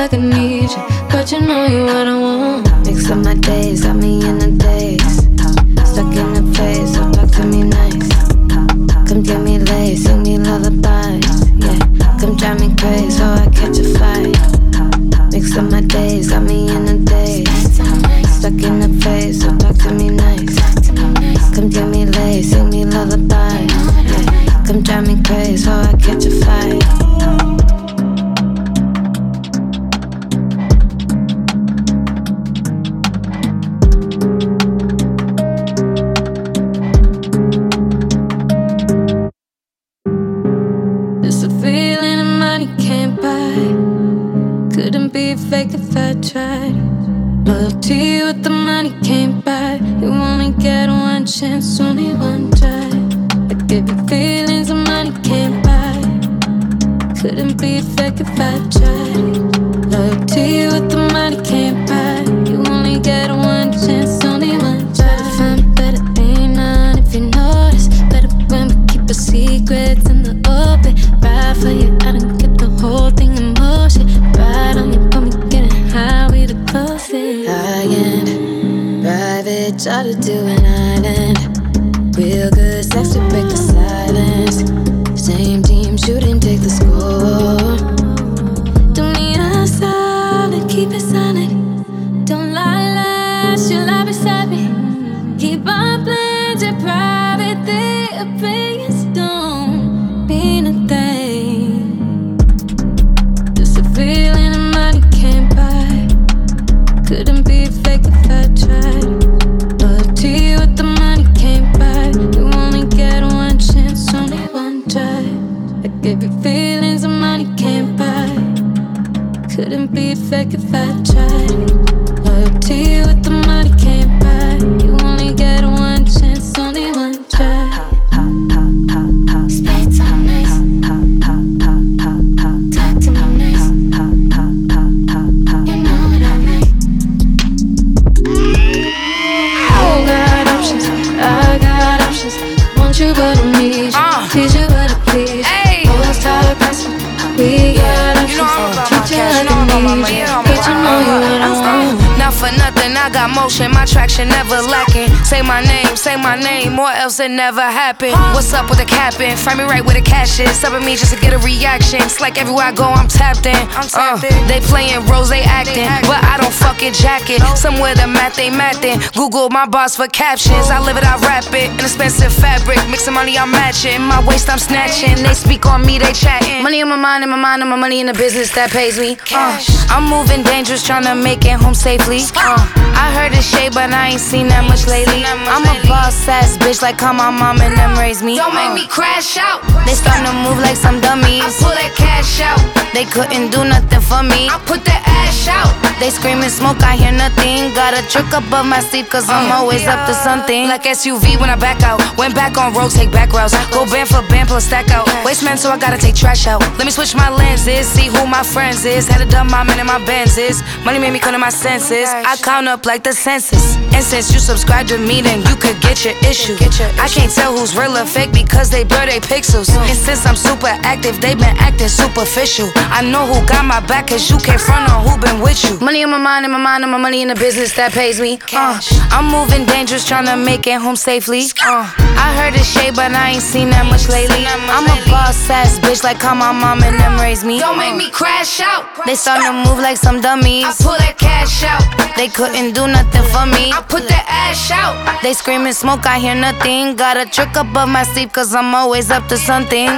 like I need you, but you know you what I want. Mix up my days, got me in a daze. Stuck in the phase, so talk to me nice. Come get me laid, sing me lullabies. Yeah, come drive me crazy, so I catch a fight. Mix up my days, got me in a daze. Stuck in the phase, so talk to me nice. Come get me laid, sing me lullabies. Yeah, come drive me crazy, so I catch a fight. Fake if I tried. Loyalty with the money can't buy. You only get one chance, only one try. I give you feelings the money can't buy. Couldn't be fake if I tried. Loyalty with the money can't buy. You only get one chance, only one try. To find better ain't none if you notice. Better when we keep our secrets in the open. Ride for you, I done kept the whole thing in motion. Ride on you, put me how we the closest. High-end, private, try to do an island. Real good sex to break the silence. Same team shooting, take the score. Do me a solid, keep it solid. Don't lie, she'll lie beside me. Keep our plans in private, their opinions don't mean a thing. Just a feeling of money can't buy. Couldn't be fake if I tried. Loyalty with the money can't buy. You only get one chance, only one try. I gave you feelings the money can't buy. Couldn't be fake if I tried. Loyalty with the money can't buy. You only get one chance, only one try. Speak to me, talk to me. You but I need you, please you but I please you. Always tired of passing, we got options. Treat you like I need you, but you know you what I want. Not for nothing, I got motion, my traction never lacking. Say my name, or else it never happened. What's up with the capping? Frame me right where the cash is. Subbing me just to get a reaction. It's like everywhere I go, I'm tapped in. They playing roles, they acting, but I don't fucking jack it. Somewhere the math they mathin'. Google my boss for captions. I live it, I rap it. An expensive fabric, mixing money, I'm matching. My waist, I'm snatching. They speak on me, they chatting. Money on my mind, and my money in the business that pays me. I'm moving dangerous, tryna make it home safely. I heard it's shade, but I ain't seen that much lately. I'm a boss ass bitch, like how my mom and them raised me. Don't make me crash out. They starting to move like some dummies. I pull that cash out. They couldn't do nothing for me. I put that ash out. They screaming smoke, I hear nothing. Got a trick above my sleeve, cause I'm always up to something. Like SUV when I back out. Went back on road, take back routes. Go band for band, plus stack out. Waste man, so I gotta take trash out. Let me switch my lenses, see who my friends is. Had a dumb mom and my Benzes. Money made me come to my senses. I count up like the census. And since you subscribe to me, then you could get your issue. I can't tell who's real or fake because they blur they pixels. And since I'm super active, they been acting superficial. I know who got my back, cause you can't front on who been with you. Money on my mind, and my money in the business that pays me. I'm moving dangerous, tryna make it home safely. I heard it's shade, but I ain't seen that much lately. I'm a boss ass bitch, like how my mom and them raised me. Don't make me crash out. They starting to move like some dummies. I pull that cash out. They couldn't do nothing for me. I put that ash out. They screaming smoke, I hear nothing. Got a trick above my sleeve, cause I'm always up to something.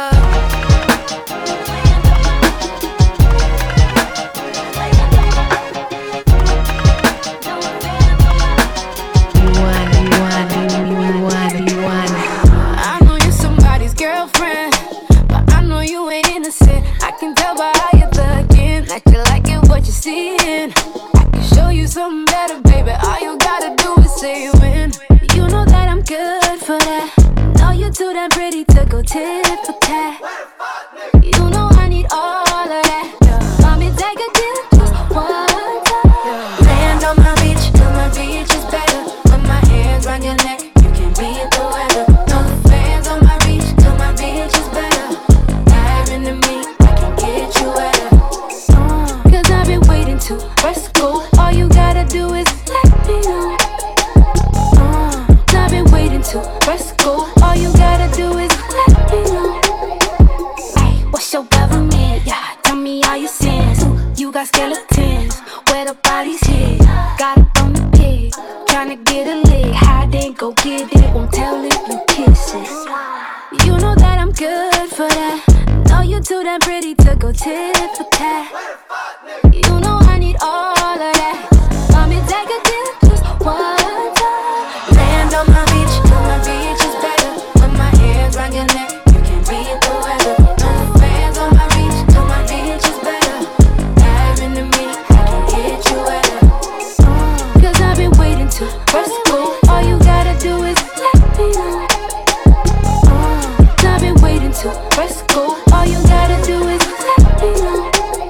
I know you're somebody's girlfriend, but I know you ain't innocent. I can tell by how you're looking that you liking what you're seeing. I can show you something better, baby. All you gotta do is say when. You know that I'm good for that. Know you're too damn pretty to go tit for tat. to press go. All you gotta do is let me know. I've been waiting to press go. All you gotta do is let me know. Ay, what's your government? Yeah, tell me all your sins. You got skeletons, where the bodies hid. Got up on the pig, tryna get a lick. Hide and go get it, won't tell if you kiss it. You know that I'm good for that. Know you too damn pretty to go tit for tat. You know I need all of that. Come and take a dip, just one time. Land on my beach is better. When my hands round your neck, you can read the weather. No fans on my beach is better. Dive into me, I can get you wetter. Cause I've been waiting to press go. All you gotta do is let me know. I've been waiting to press go. All you gotta do is let me know.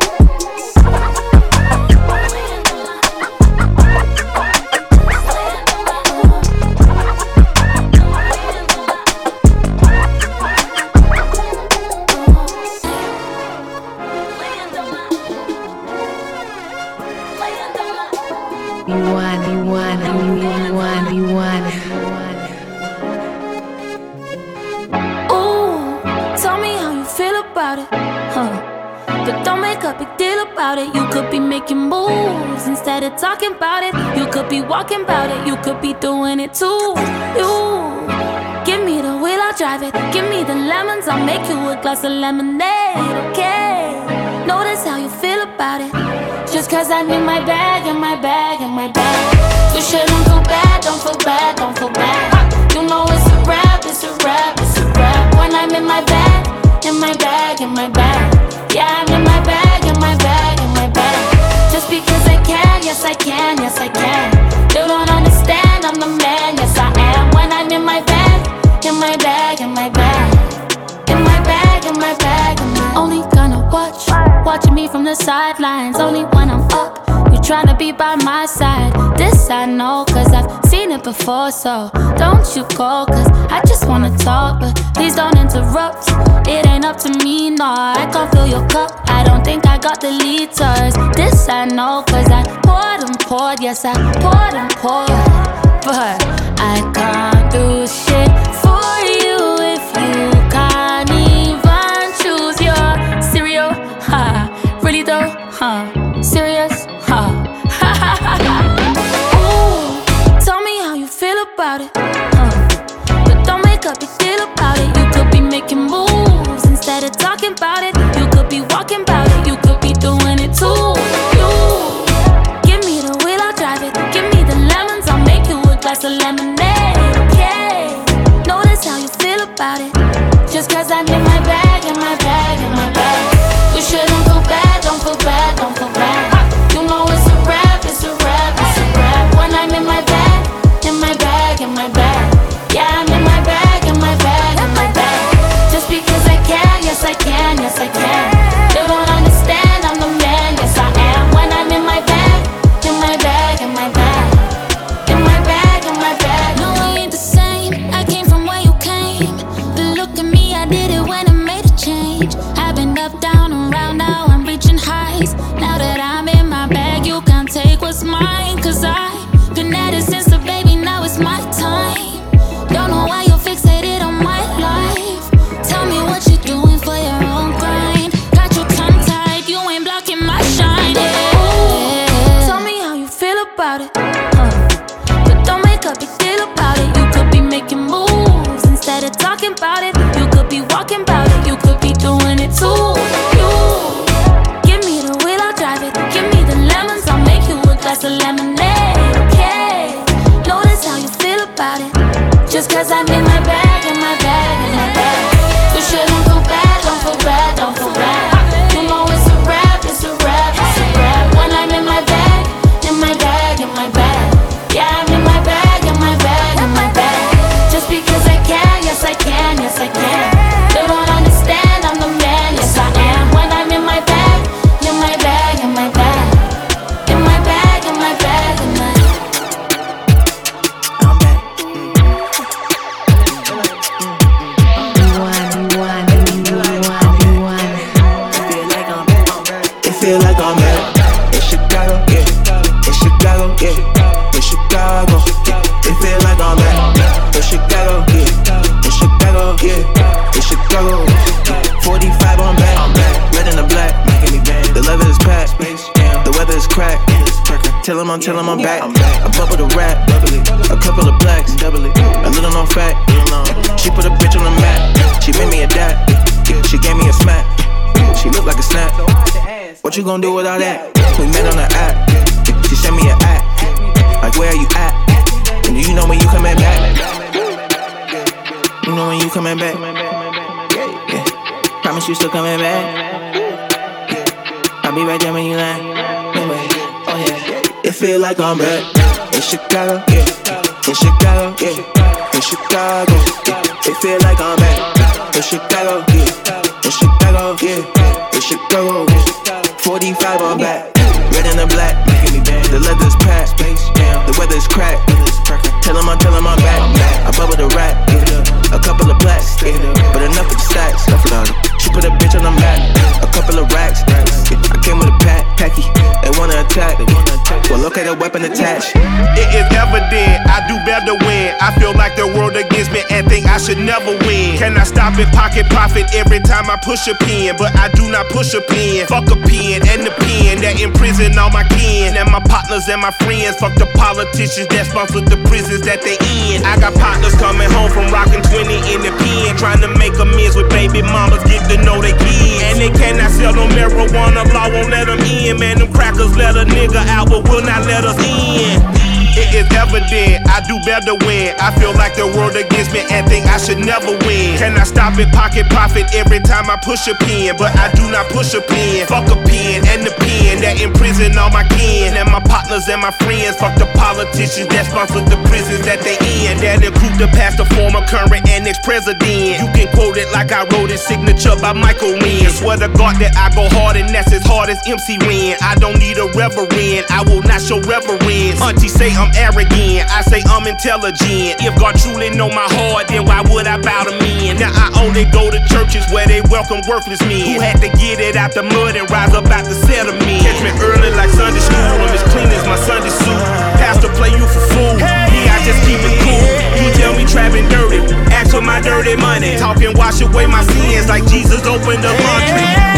But don't make a big deal about it. You could be making moves instead of talking about it. You could be walking about it. You could be doing it too. You give me the wheel, I'll drive it. Give me the lemons, I'll make you a glass of lemonade. Okay, notice how you feel about it. Just cause I need my bag and my bag and my bag. You shouldn't feel bad, don't feel bad, don't feel bad. You know it's a rap, it's a rap, it's a rap. When I'm in my bag, in my bag, in my bag. Yeah, I'm in my bag, in my bag, in my bag. Just because I can, yes I can, yes I can. You don't understand, I'm the man, yes I am. When I'm in my bag, in my bag, in my bag. In my bag, in my bag, in my. Only gonna watching me from the sidelines. Only when I'm up, you tryna be by my side. This I know, cause I've seen it before. So don't you go, cause I just wanna talk. But please don't interrupt, it ain't up to me, no. I can't fill your cup, I don't think I got the liters. This I know, cause I poured and poured. Yes, I poured and poured. But I can't do shit for you if you can't even choose your cereal. Ha, really though? Huh, serious? Huh. Ooh, tell me how you feel about it. But don't make a big deal about it. You could be making moves instead of talking about it. You could be walking about it. You could be doing it too. You give me the wheel, I'll drive it. Give me the lemons, I'll make you a glass of lemonade. Okay, notice how you feel about it. Just cause I'm in my bag, in my bag, in my bag. You shouldn't feel bad, don't feel bad, don't feel bad. You know it's a rap, it's a rap, it's a rap. When I'm in my bag, in my bag, in my bag. Yeah, I'm in my bag, in my bag, in my bag. Just because I can, yes I can, yes I can. You don't understand, I'm the man, yes I am. When I'm in my bag, in my bag, in my bag. In my bag, in my bag. No, we ain't the same, I came from where you came. But look at me, I did it when I made a change. I've been up, down, around, now I'm reaching heights. Now that I'm in my bag, you can't take what's mine. Cause I've been at it since the baby, now it's my time. Don't know why you're fixated on my life. Tell me what you're doing for your own grind. Got your tongue tied, you ain't blocking my shine. Yeah. Tell me how you feel about it. But don't make a big deal about it. You could be making moves instead of talking about it. You could be walking about it. You could be doing it too. You give me the wheel, I'll drive it. Give me the lemons, I'll make you a glass of lemonade. Tell him I'm back. I bubble the rap, a couple of blacks, a little known fact. She put a bitch on the map. She made me a dad. She gave me a smack. She look like a snap. What you gon' do with all that? We met on the app. She sent me an app. Like where are you at? And do you know when you coming back? You know when you coming back? Yeah. Promise you still coming back. I'll be right there when you land. Oh yeah. It feel like I'm back in Chicago, yeah. In Chicago, yeah. In Chicago, yeah. It feel like I'm back in Chicago, yeah. In Chicago, yeah. In Chicago, yeah. 45 I'm back. Red and the black, the leather's packed, the weather's cracked. Tell him I'm back. I bubble the rap, a couple of blacks, but enough of the stacks. She put a bitch on the map, a couple of racks. I came with a packy, they wanna attack. Well, look at the weapon attached. It is evident I do better when I feel like the world against me and think I should never win. Can I stop and pocket profit every time I push a pen? But I do not push a pen. Fuck a pen and the pen that imprison all my kin and my partners and my friends. Fuck the politicians that sponsor the prisons that they in. I got partners coming home from rocking 20 in the pen, trying to make amends with baby mamas, get to know they kids. And they cannot sell no marijuana, law won't let them in. Man, them crackers let a nigga out, but will not let us in. It is evident I do better when I feel like the world against me and think I should never win. Can I stop and pocket profit every time I push a pen? But I do not push a pen. Fuck a pen and the pen that imprison all my kin and my partners and my friends. Fuck the politicians that sponsor the prisons that they in. That include the past, the former, current, and ex-president. You can quote it like I wrote it, signature by Michael Wynn. Swear to God that I go hard and that's as hard as MC Ren. I don't need a reverend, I will not show reverence. Auntie say I'm arrogant, I say I'm intelligent. If God truly know my heart, then why would I bow to men? Now I only go to churches where they welcome worthless men who had to get it out the mud and rise up out the settlement. Catch me early like Sunday school, I'm as clean as my Sunday suit. Pastor play you for fool, yeah, I just keep it cool. You tell me trapping dirty, ask for my dirty money. Talking wash away my sins like Jesus opened the laundry.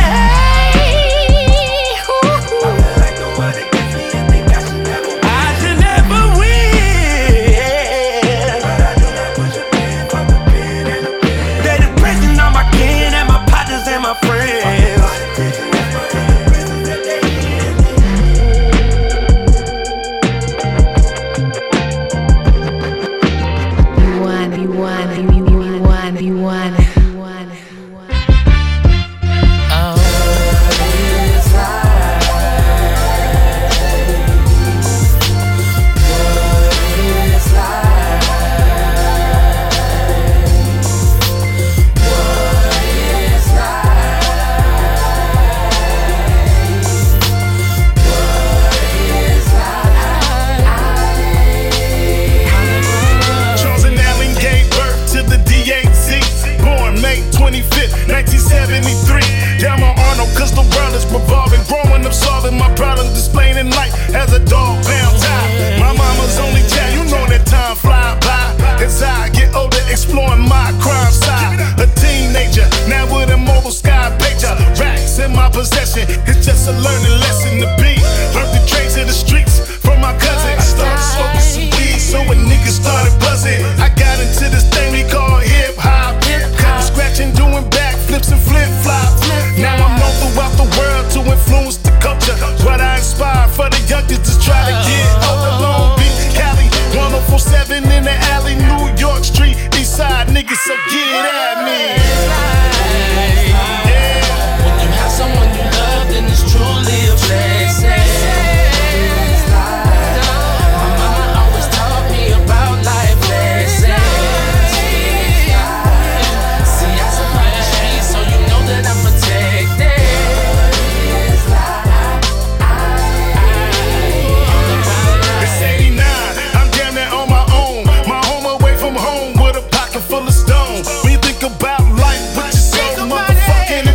Full of stones. When you think about life, what you so motherfucking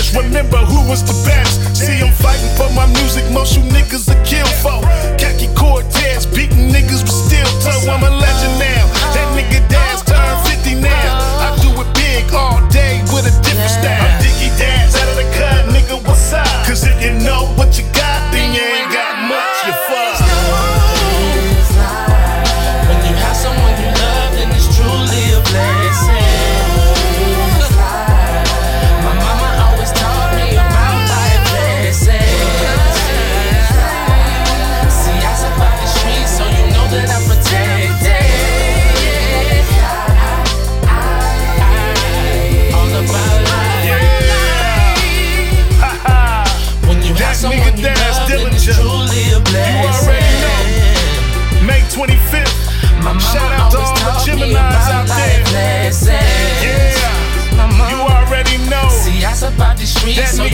just remember who was the best. See, I'm fighting for my music, most you niggas are kill for. Khaki Cortez, beating niggas with steel toe. I'm a legend now. That nigga Daz turned 50 now. I do it big all day with a different style. I'm Diggy Daz out of the cut, nigga, what's up? Cause if you know what you got, then you ain't got much, you fuck. When you have someone you love, then it's truly a blessing. My mama always taught me about life lessons. See, I survived the streets, so you know that I'm protected. All about life. When you have someone you love, then it's truly a blessing. You already know. May 25th. Shout out to all the Geminis out there. Yeah, you already know. See, I survived the streets, so